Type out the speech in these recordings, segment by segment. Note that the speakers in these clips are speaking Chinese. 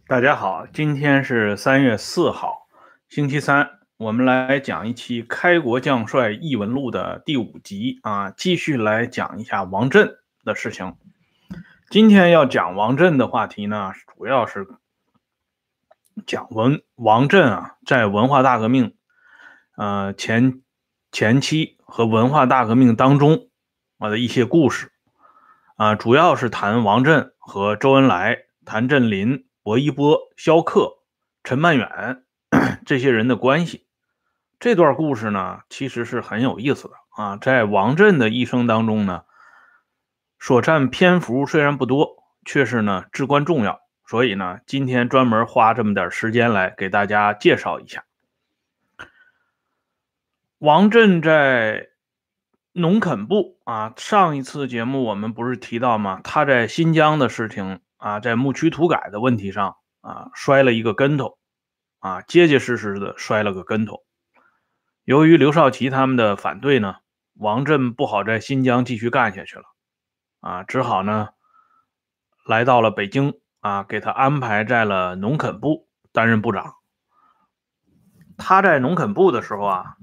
大家好，今天是3月4号，星期三，我们来讲一期《开国将帅异闻录》的第5集啊，继续来讲一下王震的事情。今天要讲王震的话题呢，主要是讲王震啊，在文化大革命前期和文化大革命当中的一些故事啊，主要是谈王震和周恩来、谭震林、薄一波、萧克、陈曼远这些人的关系。这段故事呢，其实是很有意思的啊。在王震的一生当中呢，所占篇幅虽然不多，却是呢至关重要。所以呢，今天专门花这么点时间来给大家介绍一下。王震在农垦部啊，上一次节目我们不是提到吗？他在新疆的事情啊，在牧区土改的问题上啊，摔了一个跟头啊，结结实实的摔了个跟头。由于刘少奇他们的反对呢，王震不好在新疆继续干下去了啊，只好呢来到了北京啊，给他安排在了农垦部担任部长。他在农垦部的时候啊，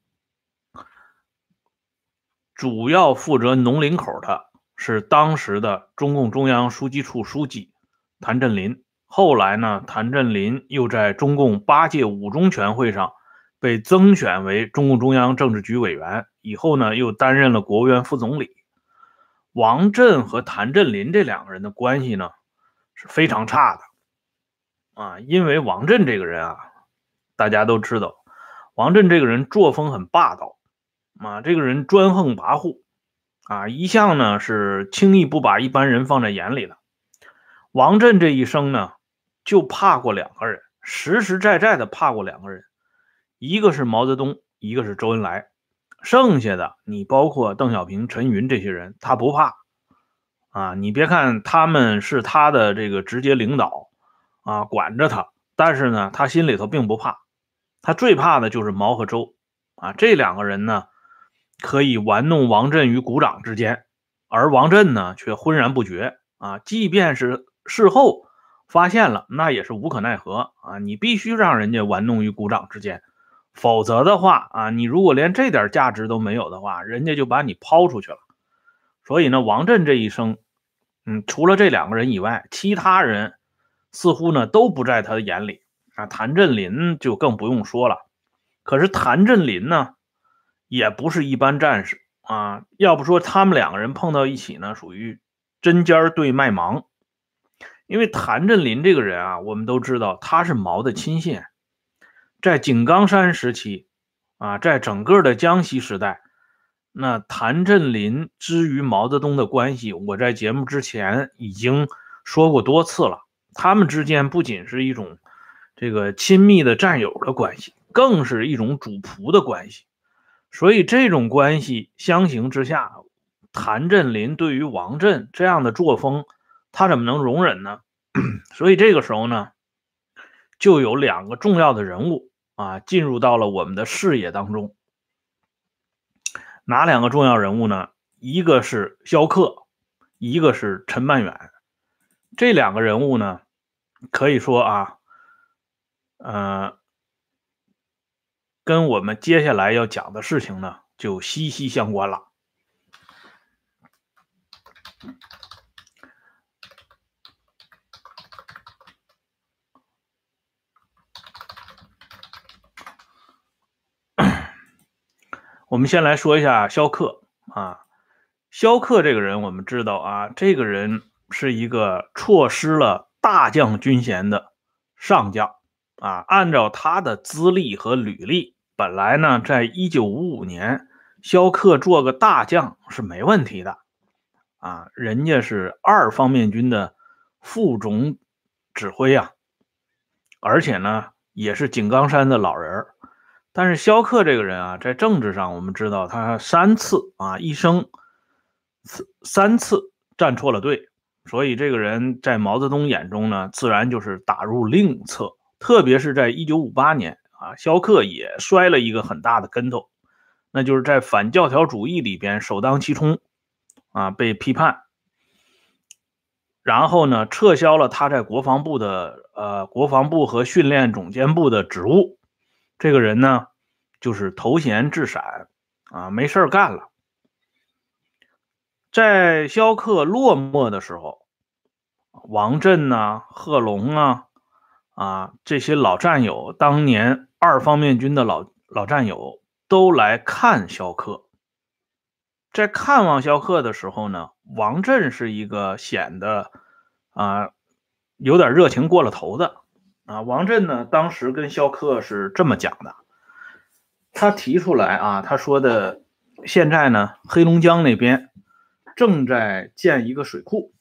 主要负责农林口的是当时的中共中央书记处书记谭震林。后来呢，谭震林又在中共8届五中全会上被增选为中共中央政治局委员，以后呢又担任了国务院副总理。王震和谭震林这两个人的关系呢是非常差的啊，因为王震这个人啊，大家都知道，王震这个人作风很霸道啊，这个人专横跋扈啊，一向呢是轻易不把一般人放在眼里的。王震这一生呢，就怕过两个人，实实在在的怕过两个人，一个是毛泽东，一个是周恩来。剩下的你包括邓小平、陈云这些人，他不怕啊。你别看他们是他的这个直接领导啊，管着他，但是呢，他心里头并不怕。他最怕的就是毛和周啊，这两个人呢，可以玩弄王震于股掌之间，而王震呢却浑然不觉啊。即便是事后发现了，那也是无可奈何啊。你必须让人家玩弄于股掌之间，否则的话啊，你如果连这点价值都没有的话，人家就把你抛出去了。所以呢，王震这一生，除了这两个人以外，其他人似乎呢都不在他的眼里啊。谭震林就更不用说了。可是谭震林呢，也不是一般战士啊。要不说他们两个人碰到一起呢，属于针尖对麦芒。因为谭震林这个人啊，我们都知道他是毛的亲信，在井冈山时期啊，在整个的江西时代，那谭震林之于毛泽东的关系，我在节目之前已经说过多次了。他们之间不仅是一种这个亲密的战友的关系，更是一种主仆的关系。所以这种关系相形之下，谭震林对于王震这样的作风，他怎么能容忍呢？所以这个时候呢，就有两个重要的人物啊进入到了我们的视野当中。哪两个重要人物呢？一个是萧克，一个是陈曼远。这两个人物呢，可以说啊，跟我们接下来要讲的事情呢，就息息相关了。我们先来说一下萧克啊。萧克这个人，我们知道啊，这个人是一个错失了大将军衔的上将啊。按照他的资历和履历，本来呢，在1955年，萧克做个大将是没问题的啊。人家是2方面军的副总指挥啊，而且呢，也是井冈山的老人。但是萧克这个人啊，在政治上我们知道他3次啊，一生3次站错了队，所以这个人在毛泽东眼中呢，自然就是打入另一侧。特别是在1958年啊，萧克也摔了一个很大的跟头，那就是在反教条主义里边首当其冲啊，被批判。 然后呢，撤销了他在国防部和训练总监部的职务。这个人呢，就是头衔置闪啊，没事干了。在萧克落寞的时候，王震呐、贺龙这些老战友，当年二方面军的老战友都来看萧克。在看望萧克的时候呢，王震是一个显得有点热情过了头的王震呢，当时跟萧克是这么讲的，他提出来他说的，现在呢，黑龙江那边正在建一个水库，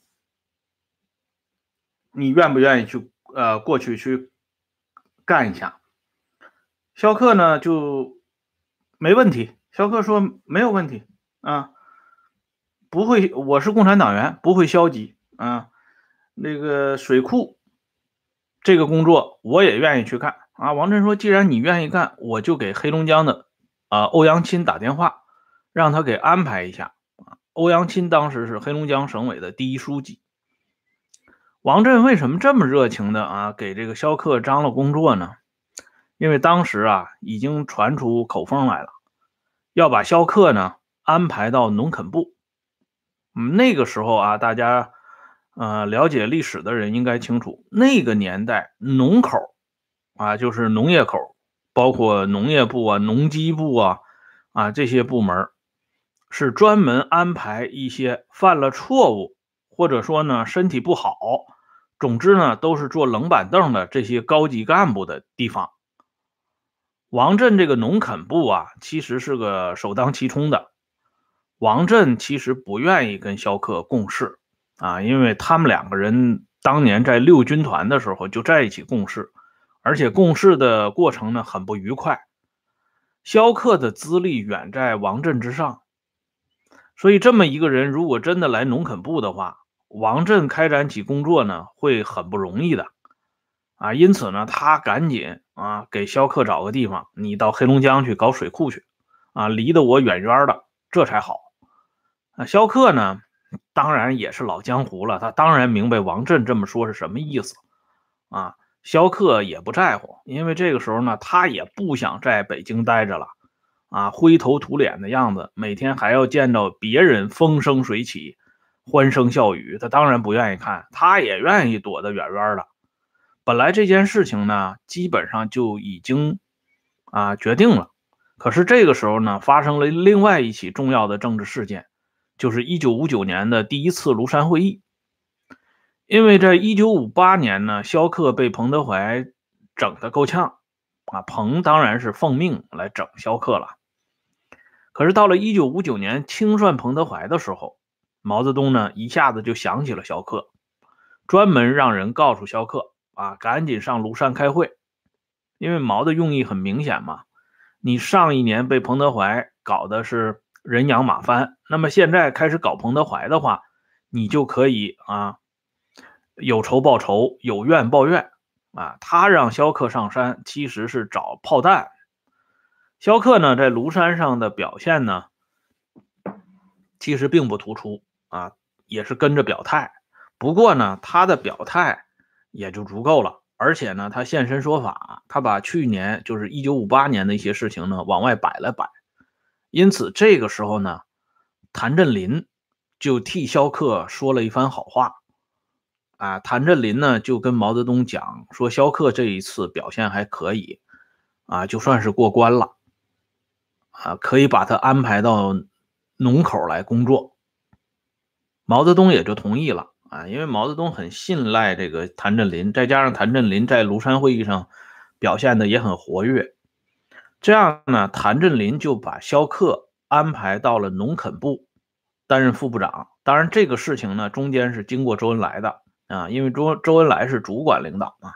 你愿不愿意去过去干一下？萧克呢就没问题，萧克说没有问题不会，我是共产党员，不会消极那个水库这个工作我也愿意去干王震说，既然你愿意干，我就给黑龙江的欧阳钦打电话，让他给安排一下欧阳钦当时是黑龙江省委的第一书记。王震为什么这么热情的给这个萧克张罗工作呢？因为当时已经传出口风来了，要把萧克呢安排到农垦部。那个时候大家了解历史的人应该清楚，那个年代农口就是农业口，包括农业部农机部这些部门是专门安排一些犯了错误，或者说呢身体不好，总之呢都是坐冷板凳的这些高级干部的地方。王震这个农垦部其实是个首当其冲的。王震其实不愿意跟萧克共事因为他们两个人当年在六军团的时候就在一起共事，而且共事的过程呢很不愉快。萧克的资历远在王震之上，所以这么一个人如果真的来农垦部的话，王震开展起工作呢会很不容易的因此呢他赶紧给萧克找个地方，你到黑龙江去搞水库去离得我远远的，这才好。萧克呢当然也是老江湖了，他当然明白王震这么说是什么意思萧克也不在乎，因为这个时候呢他也不想在北京待着了灰头土脸的样子，每天还要见到别人风生水起欢声笑语，他当然不愿意看，他也愿意躲得远远的。本来这件事情呢基本上就已经决定了，可是这个时候呢发生了另外一起重要的政治事件，就是1959年的第一次庐山会议。因为在1958年呢，萧克被彭德怀整得够呛彭当然是奉命来整萧克了。可是到了1959年清算彭德怀的时候，毛泽东呢一下子就想起了萧克，专门让人告诉萧克赶紧上庐山开会。因为毛的用意很明显嘛，你上一年被彭德怀搞的是人仰马翻，那么现在开始搞彭德怀的话，你就可以有仇报仇，有怨报怨他让萧克上山其实是找炮弹。萧克呢在庐山上的表现呢其实并不突出也是跟着表态，不过呢他的表态也就足够了，而且呢他现身说法，他把去年就是1958年的一些事情呢往外摆了摆。因此这个时候呢谭震林就替萧克说了一番好话谭震林呢就跟毛泽东讲说，萧克这一次表现还可以就算是过关了可以把他安排到农口来工作。毛泽东也就同意了因为毛泽东很信赖这个谭震林，再加上谭震林在庐山会议上表现的也很活跃，这样呢谭震林就把萧克安排到了农垦部担任副部长。当然这个事情呢中间是经过周恩来的因为周恩来是主管领导嘛。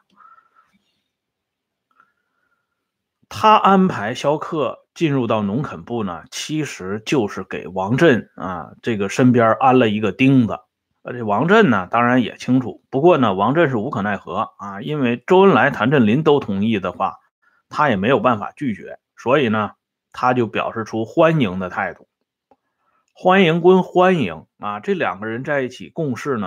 他安排萧克进入到农垦部呢，其实就是给王震这个身边安了一个钉子。而且王震呢当然也清楚，不过呢王震是无可奈何因为周恩来谭震林都同意的话，他也没有办法拒绝，所以呢他就表示出欢迎的态度。欢迎归欢迎这两个人在一起共事呢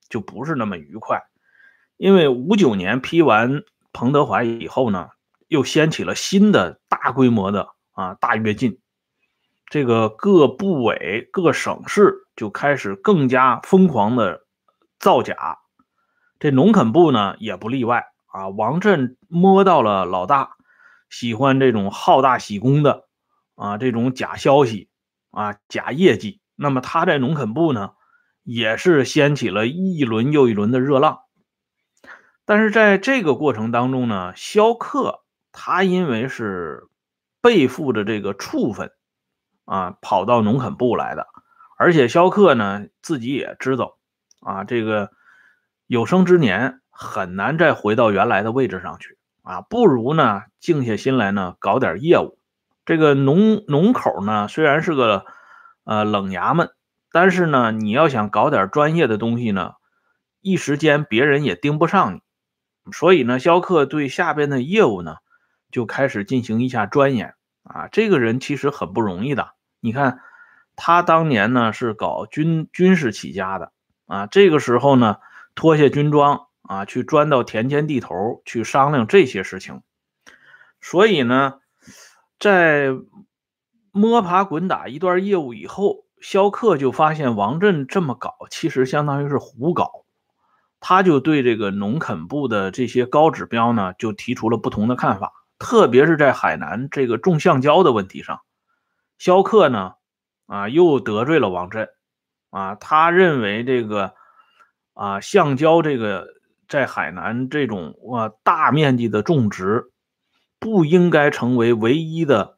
就不是那么愉快。因为59年批完彭德怀以后呢，又掀起了新的大规模的大跃进，这个各部委各省市就开始更加疯狂的造假，这农垦部呢也不例外王震摸到了老大喜欢这种好大喜功的这种假消息假业绩，那么他在农垦部呢也是掀起了一轮又一轮的热浪。但是在这个过程当中呢，萧克他因为是背负着这个处分跑到农垦部来的，而且萧克呢自己也知道这个有生之年很难再回到原来的位置上去不如呢静下心来呢搞点业务。这个农口呢虽然是个冷衙门，但是呢你要想搞点专业的东西呢，一时间别人也盯不上你。所以呢，萧克对下边的业务呢，就开始进行一下钻研这个人其实很不容易的。你看，他当年呢是搞军事起家的这个时候呢，脱下军装去钻到田间地头去商量这些事情。所以呢，在摸爬滚打一段业务以后，萧克就发现王震这么搞，其实相当于是胡搞。他就对这个农垦部的这些高指标呢，就提出了不同的看法，特别是在海南这个种橡胶的问题上，萧克呢，又得罪了王震他认为这个橡胶这个在海南这种大面积的种植，不应该成为唯一的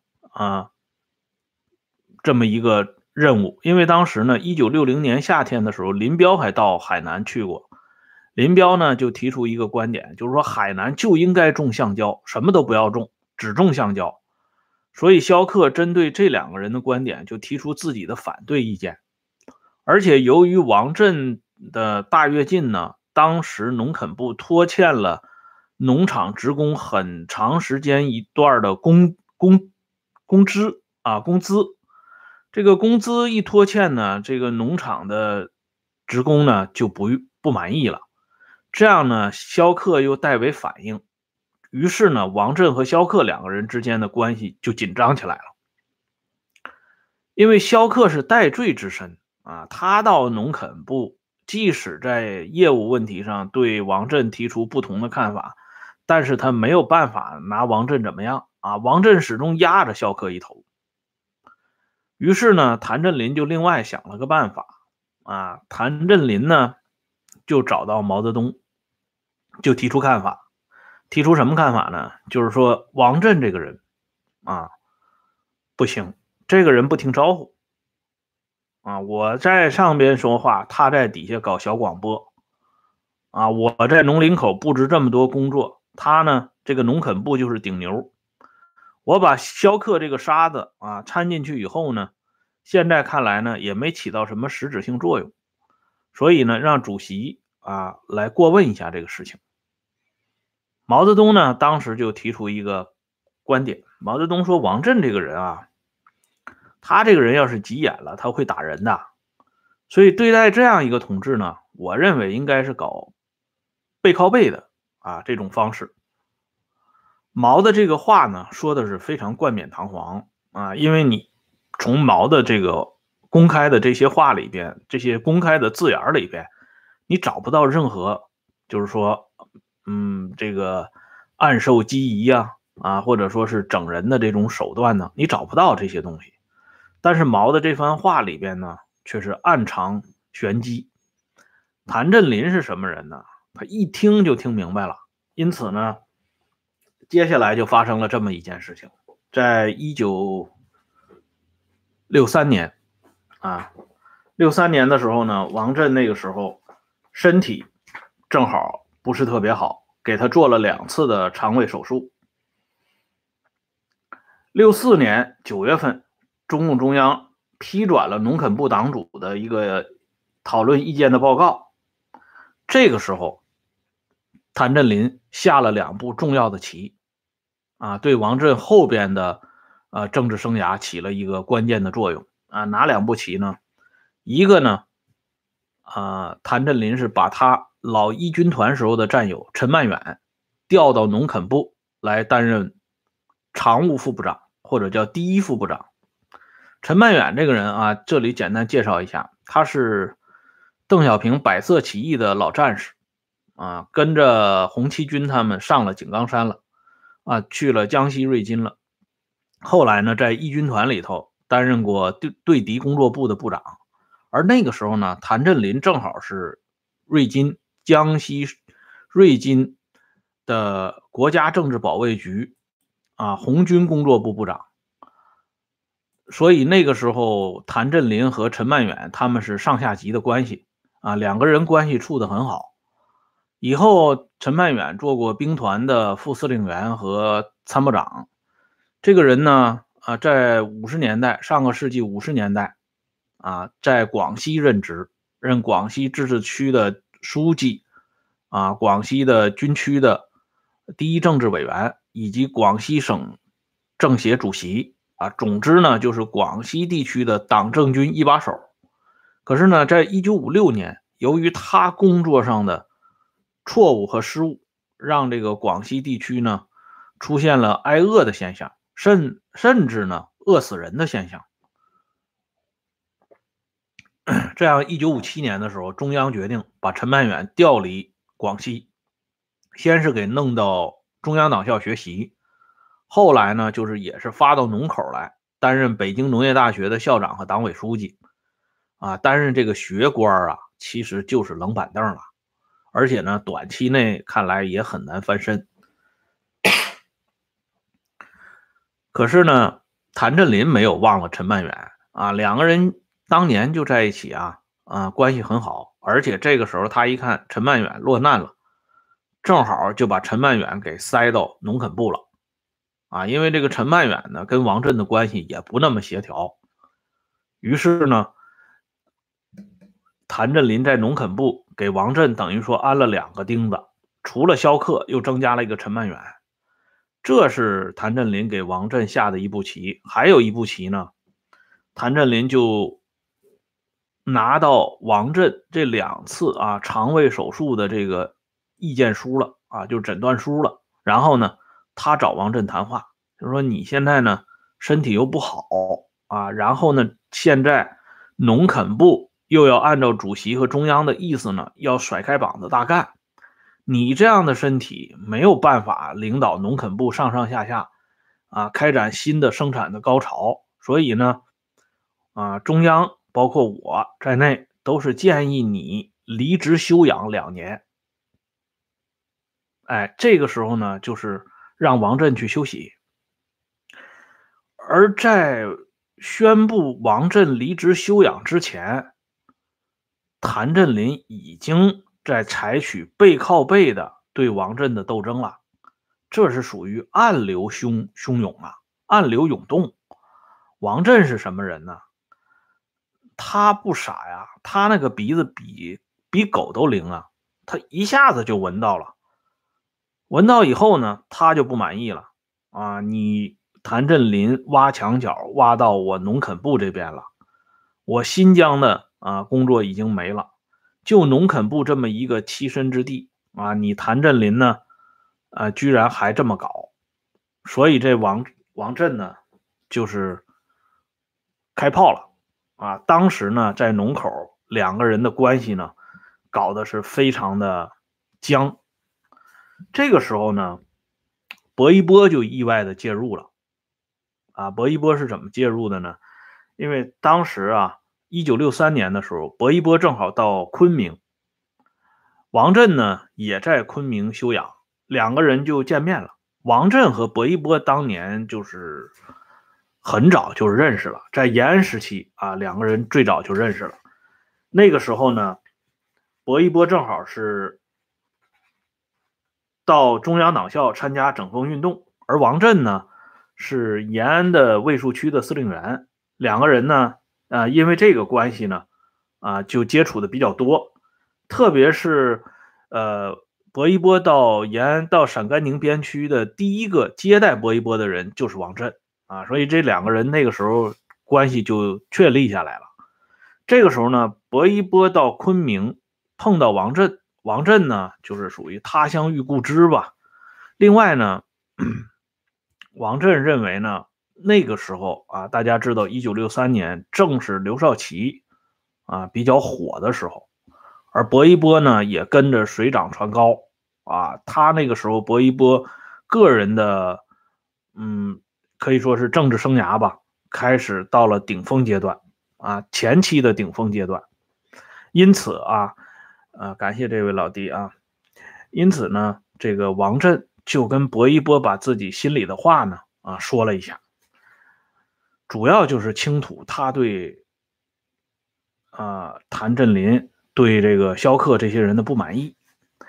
这么一个任务，因为当时呢，1960年夏天的时候，林彪还到海南去过。林彪呢就提出一个观点，就是说海南就应该种橡胶，什么都不要种，只种橡胶。所以萧克针对这两个人的观点就提出自己的反对意见。而且由于王震的大跃进呢，当时农垦部拖欠了农场职工很长时间一段的工资。这个工资一拖欠呢，这个农场的职工呢就不满意了。这样呢，萧克又代为反应，于是呢，王震和萧克两个人之间的关系就紧张起来了。因为萧克是戴罪之身他到农垦部，即使在业务问题上对王震提出不同的看法，但是他没有办法拿王震怎么样王震始终压着萧克一头。于是呢，谭震林就另外想了个办法谭震林呢就找到毛泽东，就提出看法。提出什么看法呢？就是说王震这个人不行，这个人不听招呼我在上边说话，他在底下搞小广播我在农林口布置这么多工作，他呢这个农垦部就是顶牛。我把萧克这个沙子掺进去以后呢，现在看来呢也没起到什么实质性作用，所以呢让主席来过问一下这个事情。毛泽东呢当时就提出一个观点，毛泽东说王震这个人他这个人要是急眼了，他会打人的，所以对待这样一个同志呢，我认为应该是搞背靠背的这种方式。毛的这个话呢说的是非常冠冕堂皇因为你从毛的这个公开的这些话里边，这些公开的字眼里边，你找不到任何就是说这个暗授机宜或者说是整人的这种手段呢，你找不到这些东西。但是毛的这番话里边呢，却是暗藏玄机。谭震林是什么人呢？他一听就听明白了，因此呢，接下来就发生了这么一件事情。在1963年63年的时候呢，王震那个时候身体正好不是特别好，给他做了2次的肠胃手术。64年9月份，中共中央批转了农垦部党组的一个讨论意见的报告。这个时候，谭震林下了2步重要的棋对王震后边的政治生涯起了一个关键的作用哪2步棋呢？一个呢谭震林是把他老一军团时候的战友陈曼远调到农垦部来担任常务副部长，或者叫第一副部长。陈曼远这个人啊，这里简单介绍一下，他是邓小平百色起义的老战士啊，跟着红七军他们上了井冈山了啊，去了江西瑞金了。后来呢，在一军团里头担任过对敌工作部的部长。而那个时候呢，谭震林正好是江西瑞金的国家政治保卫局红军工作部部长。所以那个时候，谭震林和陈曼远他们是上下级的关系两个人关系处得很好。以后陈曼远做过兵团的副司令员和参谋长。这个人呢在上个世纪50年代在广西任职，任广西自治区的书记广西的军区的第一政治委员，以及广西省政协主席总之呢就是广西地区的党政军一把手。可是呢，在1956年，由于他工作上的错误和失误，让这个广西地区呢出现了挨饿的现象，甚至呢饿死人的现象。这样1957年的时候，中央决定把陈曼远调离广西，先是给弄到中央党校学习，后来呢就是也是发到农口来担任北京农业大学的校长和党委书记担任这个学官其实就是冷板凳了，而且呢短期内看来也很难翻身。可是呢，谭震林没有忘了陈曼远两个人当年就在一起关系很好。而且这个时候他一看陈曼远落难了，正好就把陈曼远给塞到农垦部了因为这个陈曼远呢跟王震的关系也不那么协调。于是呢，谭震林在农垦部给王震等于说安了2个钉子，除了萧克又增加了一个陈曼远。这是谭震林给王震下的一步棋。还有一步棋呢，谭震林就拿到王震这2次肠胃手术的这个意见书了就诊断书了。然后呢，他找王震谈话，就说你现在呢身体又不好然后呢现在农垦部又要按照主席和中央的意思呢要甩开膀子大干，你这样的身体没有办法领导农垦部上上下下开展新的生产的高潮。所以呢中央包括我在内都是建议你离职休养2年。这个时候呢就是让王震去休息。而在宣布王震离职休养之前，谭震林已经在采取背靠背的对王震的斗争了。这是属于暗流汹涌暗流涌动。王震是什么人呢？他不傻呀，他那个鼻子比狗都灵他一下子就闻到了。闻到以后呢，他就不满意了你谭震林挖墙脚挖到我农垦部这边了，我新疆的工作已经没了，就农垦部这么一个栖身之地你谭震林呢居然还这么搞。所以这王震呢就是开炮了当时呢在农口2个人的关系呢搞得是非常的僵。这个时候呢，薄一波就意外的介入了薄一波是怎么介入的呢？因为当时1963年的时候，薄一波正好到昆明，王震呢也在昆明休养，2个人就见面了。王震和薄一波当年就是很早就认识了，在延安时期2个人最早就认识了。那个时候呢，薄一波正好是到中央党校参加整风运动，而王震呢是延安的卫戍区的司令员。2个人呢因为这个关系呢就接触的比较多。特别是薄一波到延安到陕甘宁边区的第一个接待薄一波的人就是王震所以这2个人那个时候关系就确立下来了。这个时候呢， 薄一波到昆明碰到王震，王震呢就是属于他乡遇故知吧。另外呢，王震认为呢，那个时候啊，大家知道1963年正是刘少奇比较火的时候，而薄一波呢也跟着水涨船高他那个时候薄一波个人的可以说是政治生涯吧，开始到了顶峰阶段前期的顶峰阶段。因此感谢这位老弟因此呢，这个王震就跟薄一波把自己心里的话呢说了一下，主要就是倾吐他对谭震林对这个萧克这些人的不满意。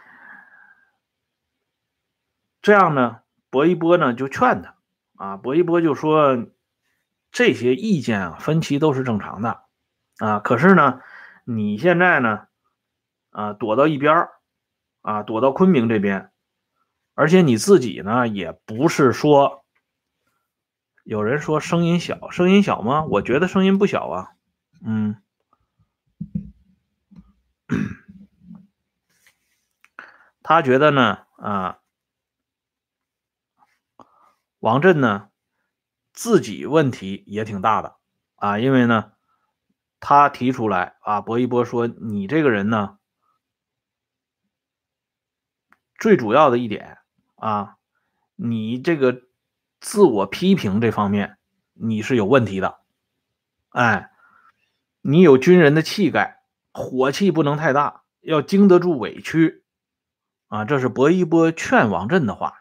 这样呢，薄一波呢就劝他薄一波就说这些意见分歧都是正常的可是呢，你现在呢躲到一边躲到昆明这边，而且你自己呢也不是说，有人说声音小，声音小吗？我觉得声音不小啊。他觉得呢王震呢自己问题也挺大的因为呢他提出来薄一波说你这个人呢最主要的一点你这个自我批评这方面你是有问题的。你有军人的气概，火气不能太大，要经得住委屈这是薄一波劝王震的话。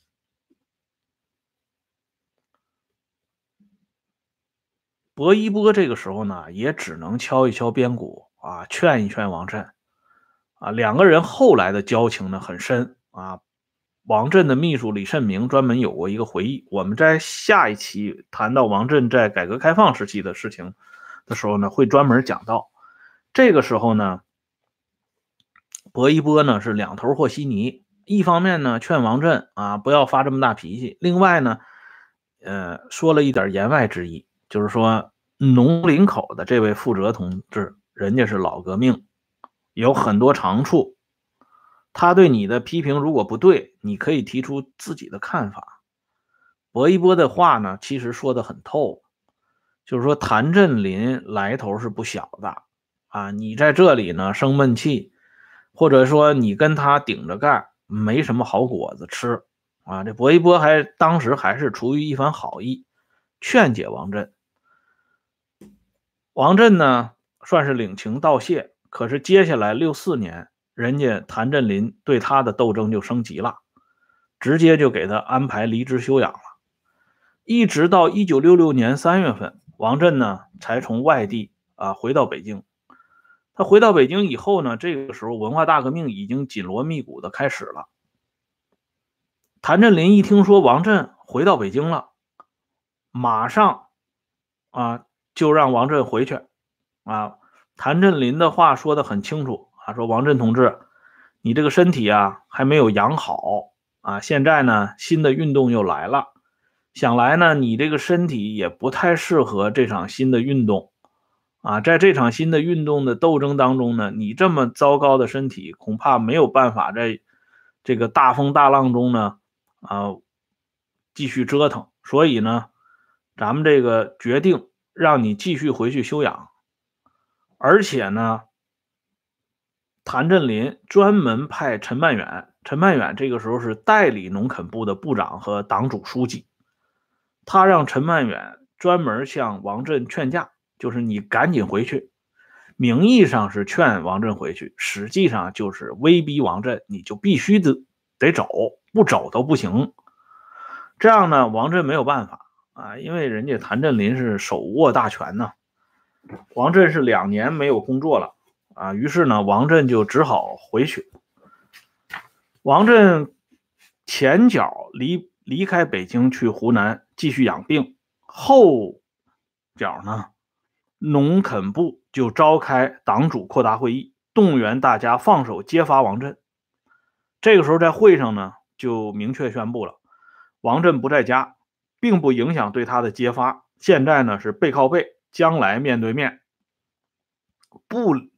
薄一波这个时候呢也只能敲一敲边鼓劝一劝王震两个人后来的交情呢很深王震的秘书李慎明专门有过一个回忆，我们在下一期谈到王震在改革开放时期的事情的时候呢会专门讲到。这个时候呢薄一波呢是两头和稀泥，一方面呢劝王震不要发这么大脾气，另外呢说了一点言外之意，就是说农林口的这位负责同志人家是老革命，有很多长处，他对你的批评如果不对，你可以提出自己的看法。薄一波的话呢其实说得很透，就是说谭震林来头是不小的你在这里呢生闷气，或者说你跟他顶着干，没什么好果子吃这薄一波当时还是出于一番好意劝解王震。王震呢算是领情道谢，可是接下来64年人家谭震林对他的斗争就升级了，直接就给他安排离职休养了。一直到1966年3月份，王震呢才从外地回到北京。他回到北京以后呢，这个时候文化大革命已经紧锣密鼓的开始了。谭震林一听说王震回到北京了，马上就让王震回去谭震林的话说得很清楚说王震同志，你这个身体还没有养好现在呢新的运动又来了，想来呢你这个身体也不太适合这场新的运动在这场新的运动的斗争当中呢，你这么糟糕的身体恐怕没有办法在这个大风大浪中呢继续折腾，所以呢咱们这个决定让你继续回去休养。而且呢谭震林专门派陈曼远这个时候是代理农垦部的部长和党组书记，他让陈曼远专门向王震劝架，就是你赶紧回去，名义上是劝王震回去，实际上就是威逼王震你就必须得走，不走都不行。这样呢王震没有办法因为人家谭震林是手握大权呢，王震是2年没有工作了于是呢王震就只好回去。王震前脚离开北京去湖南继续养病，后脚呢农垦部就召开党组扩大会议，动员大家放手揭发王震。这个时候在会上呢就明确宣布了，王震不在家，并不影响对他的揭发，现在呢是背靠背，将来面对面，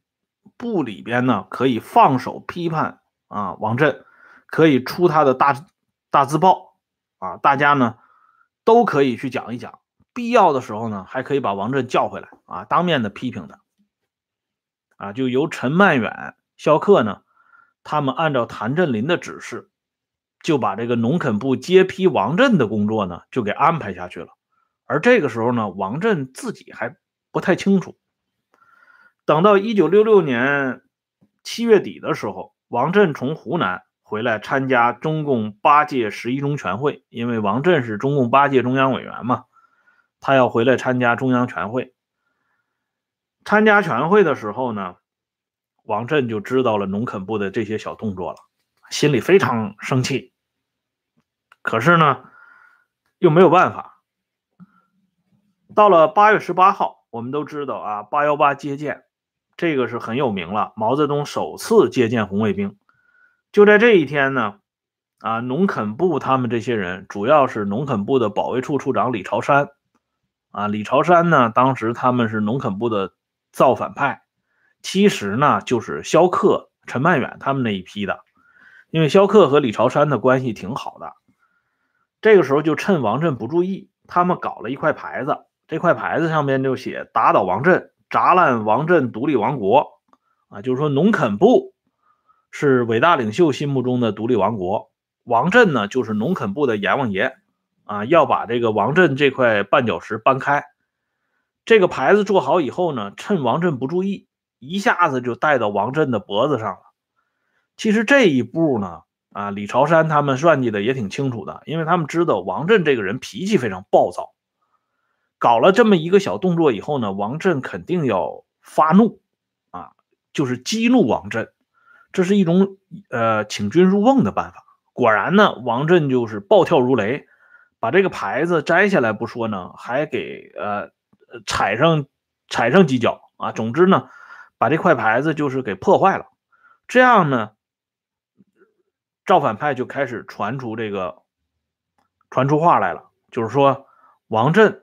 部里边呢可以放手批判王震，可以出他的大字报大家呢都可以去讲一讲，必要的时候呢还可以把王震叫回来当面的批评他就由陈曼远、萧克呢，他们按照谭震林的指示，就把这个农垦部接批王震的工作呢就给安排下去了。而这个时候呢，王震自己还不太清楚。等到1966年7月底的时候，王震从湖南回来参加中共8届11中全会，因为王震是中共8届中央委员嘛，他要回来参加中央全会。参加全会的时候呢，王震就知道了农垦部的这些小动作了，心里非常生气。可是呢，又没有办法。到了8月18号，我们都知道818接见，这个是很有名了，毛泽东首次接见红卫兵。就在这一天呢，农垦部他们这些人，主要是农垦部的保卫处处长李朝山李朝山呢，当时他们是农垦部的造反派，其实呢就是萧克、陈曼远他们那一批的，因为萧克和李朝山的关系挺好的。这个时候就趁王震不注意，他们搞了一块牌子，这块牌子上面就写打倒王震，砸烂王震独立王国就是说农垦部是伟大领袖心目中的独立王国，王震呢就是农垦部的阎王爷要把这个王震这块绊脚石搬开。这个牌子做好以后呢，趁王震不注意，一下子就带到王震的脖子上了。其实这一步呢李朝山他们算计的也挺清楚的，因为他们知道王震这个人脾气非常暴躁，搞了这么一个小动作以后呢，王震肯定要发怒就是激怒王震，这是一种请君入瓮的办法。果然呢，王震就是暴跳如雷，把这个牌子摘下来不说呢，还给踩上几脚总之呢，把这块牌子就是给破坏了。这样呢，造反派就开始传出话来了，就是说王震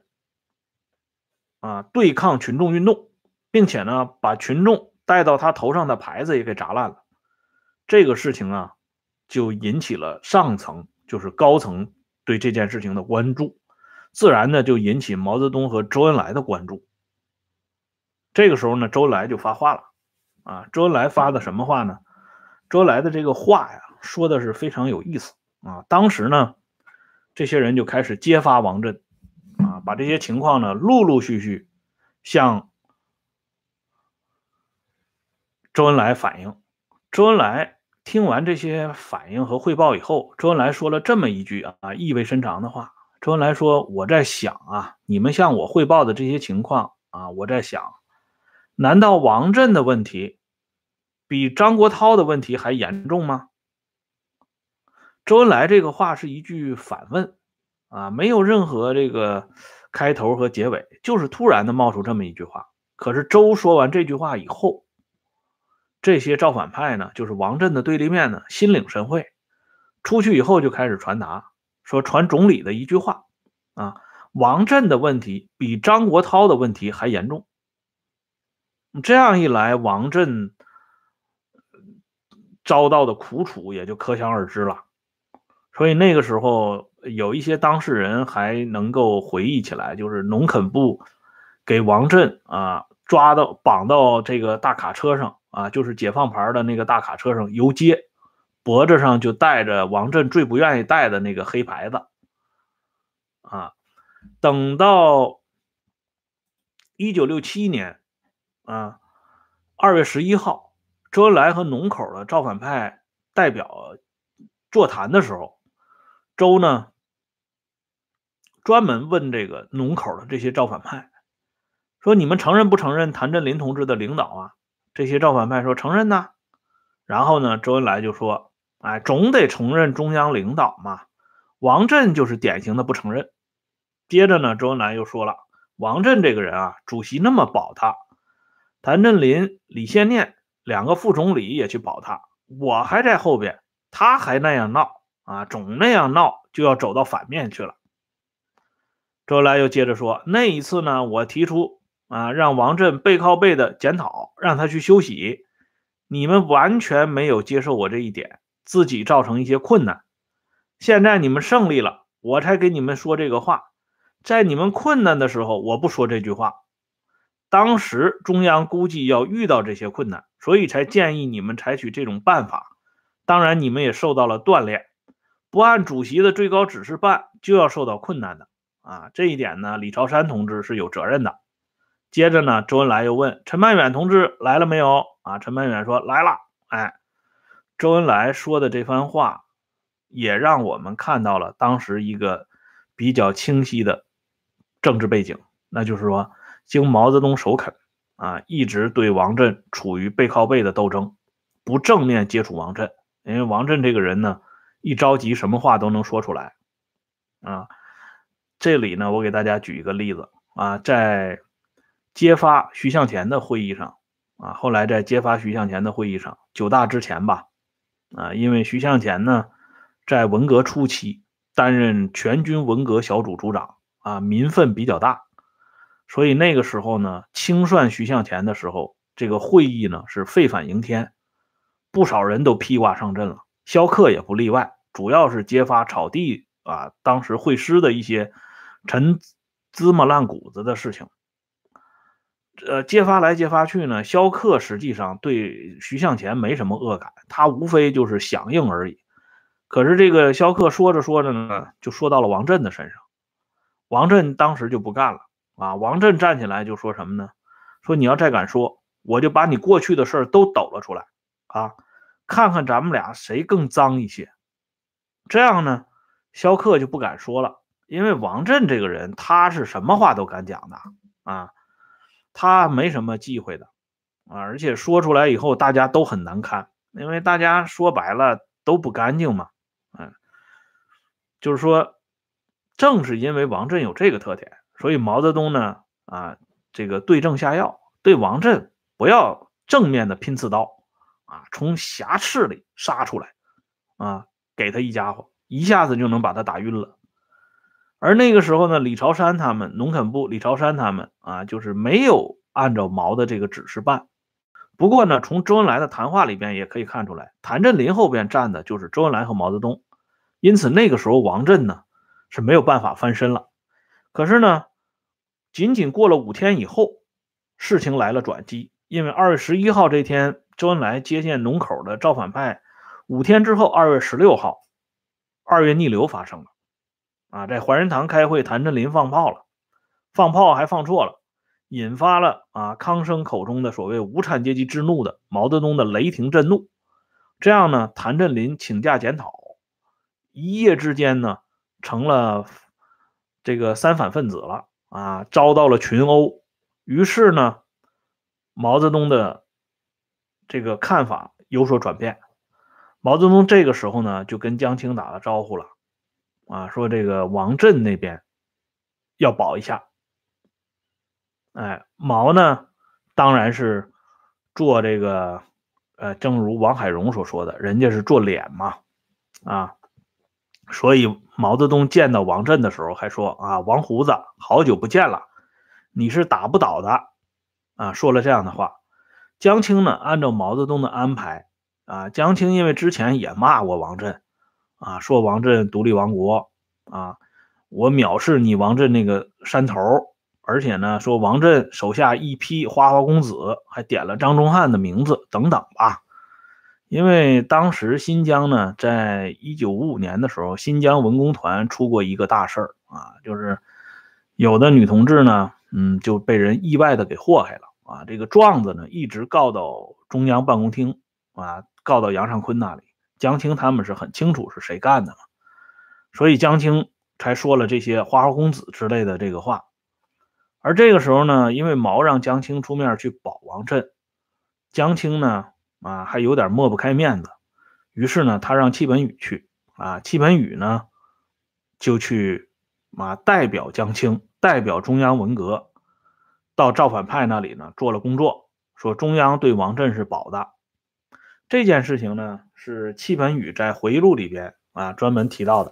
对抗群众运动，并且呢把群众带到他头上的牌子也给砸烂了。这个事情就引起了上层，就是高层对这件事情的关注，自然呢就引起毛泽东和周恩来的关注。这个时候呢，周恩来就发话了周恩来发的什么话呢？周恩来的这个话说的是非常有意思当时呢，这些人就开始揭发王震把这些情况呢陆陆续续向周恩来反映。周恩来听完这些反应和汇报以后，周恩来说了这么一句意味深长的话。周恩来说，我在想你们向我汇报的这些情况我在想，难道王震的问题比张国焘的问题还严重吗？周恩来这个话是一句反问没有任何这个开头和结尾，就是突然的冒出这么一句话。可是周说完这句话以后，这些造反派呢，就是王震的对立面呢，心领神会，出去以后就开始传达，说传总理的一句话王震的问题比张国焘的问题还严重。这样一来，王震遭到的苦楚也就可想而知了。所以那个时候有一些当事人还能够回忆起来，就是农垦部给王震绑到这个大卡车上就是解放牌的那个大卡车上游街，脖子上就带着王震最不愿意带的那个黑牌子等到1967年2月11号，周恩来和农口的造反派代表座谈的时候，周呢专门问这个农口的这些造反派，说你们承认不承认谭震林同志的领导这些造反派说承认呐。然后呢，周恩来就说总得承认中央领导嘛，王震就是典型的不承认。接着呢，周恩来又说了，王震这个人主席那么保他，谭震林、李先念两个副总理也去保他，我还在后边，他还那样闹总那样闹就要走到反面去了。周恩来又接着说，那一次呢，我提出让王震背靠背的检讨，让他去休息， 你们完全没有接受我这一点，自己造成一些困难。现在你们胜利了，我才给你们说这个话。在你们困难的时候，我不说这句话。当时中央估计要遇到这些困难，所以才建议你们采取这种办法。当然，你们也受到了锻炼，不按主席的最高指示办，就要受到困难的。这一点呢，李朝山同志是有责任的。接着呢，周恩来又问陈曼远同志来了没有？陈曼远说来了。周恩来说的这番话，也让我们看到了当时一个比较清晰的政治背景，那就是说，经毛泽东首肯，一直对王震处于背靠背的斗争，不正面接触王震，因为王震这个人呢，一着急什么话都能说出来。这里呢，我给大家举一个例子在揭发徐向前的会议上后来在揭发徐向前的会议上，9大之前吧因为徐向前呢在文革初期担任全军文革小组组长民愤比较大，所以那个时候呢清算徐向前的时候，这个会议呢是沸反盈天，不少人都披挂上阵了，萧克也不例外，主要是揭发草地当时会师的一些陈芝麻烂谷子的事情。揭发来揭发去呢，萧克实际上对徐向前没什么恶感，他无非就是响应而已。可是这个萧克说着说着呢，就说到了王震的身上，王震当时就不干了王震站起来就说什么呢？说你要再敢说，我就把你过去的事都抖了出来看看咱们俩谁更脏一些。这样呢，萧克就不敢说了，因为王震这个人他是什么话都敢讲的他没什么忌讳的而且说出来以后大家都很难堪，因为大家说白了都不干净嘛就是说正是因为王震有这个特点，所以毛泽东呢这个对症下药，对王震不要正面的拼刺刀从瑕疵里杀出来给他一家伙，一下子就能把他打晕了。而那个时候呢，李朝山他们农垦部李朝山他们就是没有按照毛的这个指示办。不过呢，从周恩来的谈话里边也可以看出来，谭震林后边站的就是周恩来和毛泽东，因此那个时候王震呢是没有办法翻身了。可是呢，仅仅过了5天以后，事情来了转机，因为2月11号这天，周恩来接见龙口的造反派，5天之后2月16号，二月逆流发生了在怀仁堂开会，谭震林放炮了，放炮还放错了，引发了康生口中的所谓无产阶级之怒的毛泽东的雷霆震怒。这样呢，谭震林请假检讨，一夜之间呢成了这个三反分子了遭到了群殴。于是呢，毛泽东的这个看法有所转变。毛泽东这个时候呢就跟江青打了招呼了说这个王震那边要保一下。毛呢当然是做这个正如王海荣所说的，人家是做脸嘛所以毛泽东见到王震的时候还说王胡子好久不见了，你是打不倒的说了这样的话。江青呢按照毛泽东的安排江青因为之前也骂过王震说王震独立亡国我藐视你王震那个山头，而且呢说王震手下一批花花公子，还点了张宗汉的名字等等吧。因为当时新疆呢在1955年的时候，新疆文工团出过一个大事儿就是有的女同志呢就被人意外的给祸害了这个状子呢一直告到中央办公厅告到杨尚昆那里，江青他们是很清楚是谁干的嘛，所以江青才说了这些花花公子之类的这个话。而这个时候呢，因为毛让江青出面去保王震，江青呢还有点抹不开面子，于是呢他让戚本禹去戚本禹呢就去代表江青，代表中央文革到造反派那里呢做了工作，说中央对王震是保的。这件事情呢是戚本禹在回忆录里边专门提到的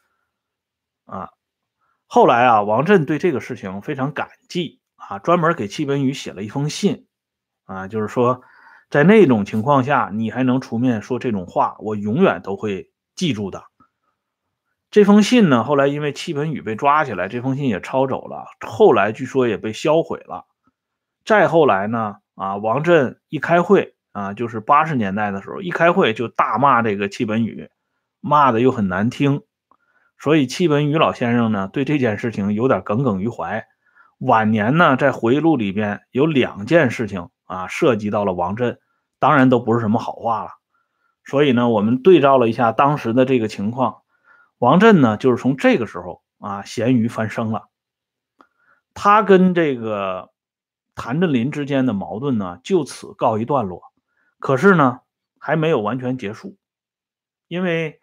后来王震对这个事情非常感激专门给戚本禹写了一封信就是说在那种情况下，你还能出面说这种话，我永远都会记住的。这封信呢，后来因为戚本禹被抓起来，这封信也抄走了，后来据说也被销毁了。再后来呢，王震一开会就是80年代的时候，一开会就大骂这个戚本禹，骂的又很难听，所以戚本禹老先生呢，对这件事情有点耿耿于怀。晚年呢，在回忆录里边有2件事情涉及到了王震，当然都不是什么好话了。所以呢，我们对照了一下当时的这个情况，王震呢，就是从这个时候咸鱼翻身了。他跟这个谭震林之间的矛盾呢，就此告一段落。可是呢，还没有完全结束，因为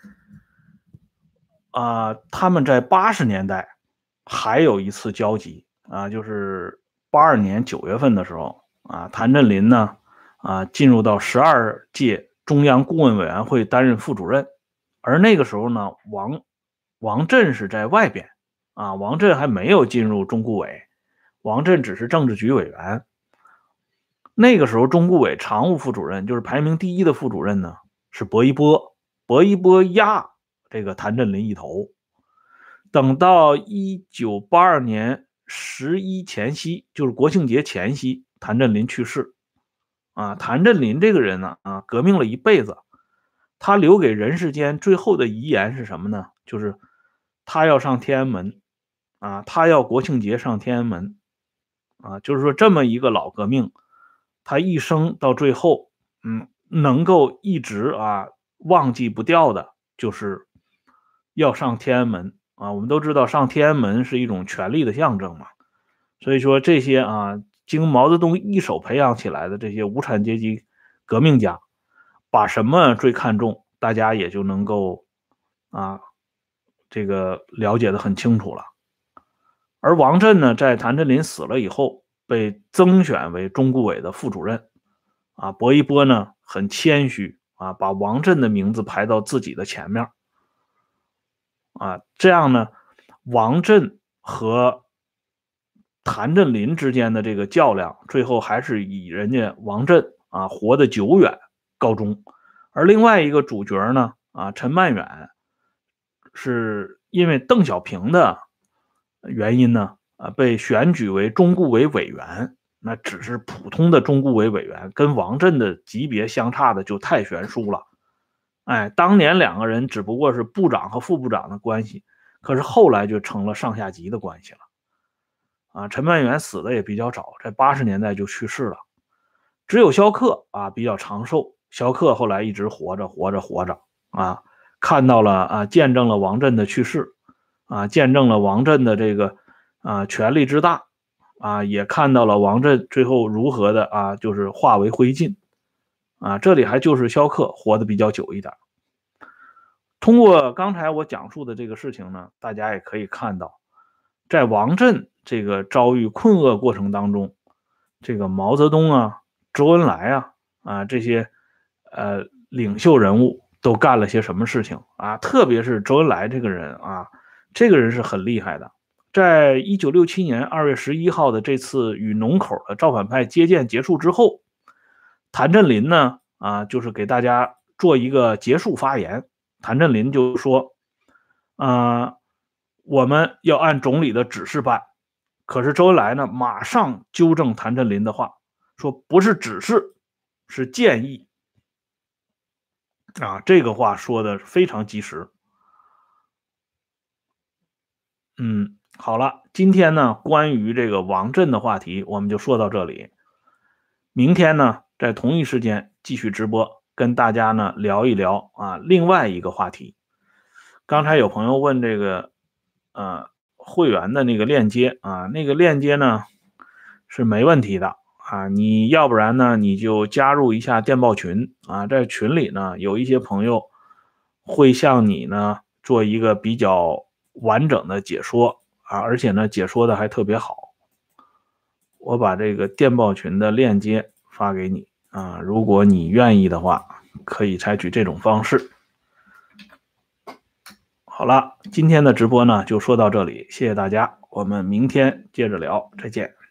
他们在80年代还有一次交集就是82年9月份的时候谭震林呢进入到12届中央顾问委员会担任副主任，而那个时候呢，王震是在外边王震还没有进入中顾委，王震只是政治局委员。那个时候中顾委常务副主任，就是排名第1的副主任呢，是薄一波，薄一波压这个谭震林一头。等到1982年11前夕，就是国庆节前夕，谭震林去世谭震林这个人呢革命了一辈子，他留给人世间最后的遗言是什么呢？就是他要上天安门他要国庆节上天安门就是说这么一个老革命，他一生到最后能够一直忘记不掉的就是要上天安门我们都知道上天安门是一种权力的象征嘛，所以说这些经毛泽东一手培养起来的这些无产阶级革命家，把什么最看重，大家也就能够这个了解的很清楚了。而王震呢，在谭震林死了以后，被增选为中顾委的副主任薄一波呢很谦虚把王震的名字排到自己的前面这样呢，王震和谭震林之间的这个较量，最后还是以人家王震活得久远告终。而另外一个主角呢陈曼远，是因为邓小平的原因呢被选举为中顾委委员，那只是普通的中顾委委员，跟王震的级别相差的就太悬殊了。当年2个人只不过是部长和副部长的关系，可是后来就成了上下级的关系了陈曼远死的也比较早，在80年代就去世了。只有萧克比较长寿，萧克后来一直活着看到了见证了王震的去世见证了王震的这个权力之大也看到了王震最后如何的就是化为灰烬这里还就是萧克活得比较久一点。通过刚才我讲述的这个事情呢，大家也可以看到，在王震这个遭遇困厄过程当中，这个毛泽东周恩来这些领袖人物都干了些什么事情特别是周恩来这个人这个人是很厉害的。在1967年2月11号的这次与农口的造反派接见结束之后，谭震林呢就是给大家做一个结束发言。谭震林就说我们要按总理的指示办。可是周恩来呢马上纠正谭震林的话，说不是指示，是建议这个话说的非常及时。好了，今天呢关于这个王震的话题我们就说到这里。明天呢在同一时间继续直播，跟大家呢聊一聊另外一个话题。刚才有朋友问这个会员的那个链接那个链接呢是没问题的你要不然呢你就加入一下电报群在群里呢有一些朋友会向你呢做一个比较完整的解说而且呢解说的还特别好。我把这个电报群的链接发给你如果你愿意的话，可以采取这种方式。好了，今天的直播呢就说到这里，谢谢大家，我们明天接着聊，再见。